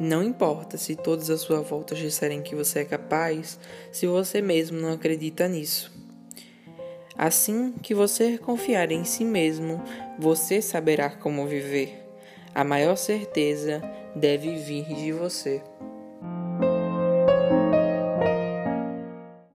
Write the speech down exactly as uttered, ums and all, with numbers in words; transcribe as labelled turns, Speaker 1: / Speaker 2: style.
Speaker 1: Não importa se todos à sua volta disserem que você é capaz, se você mesmo não acredita nisso. Assim que você confiar em si mesmo, você saberá como viver. A maior certeza deve vir de você.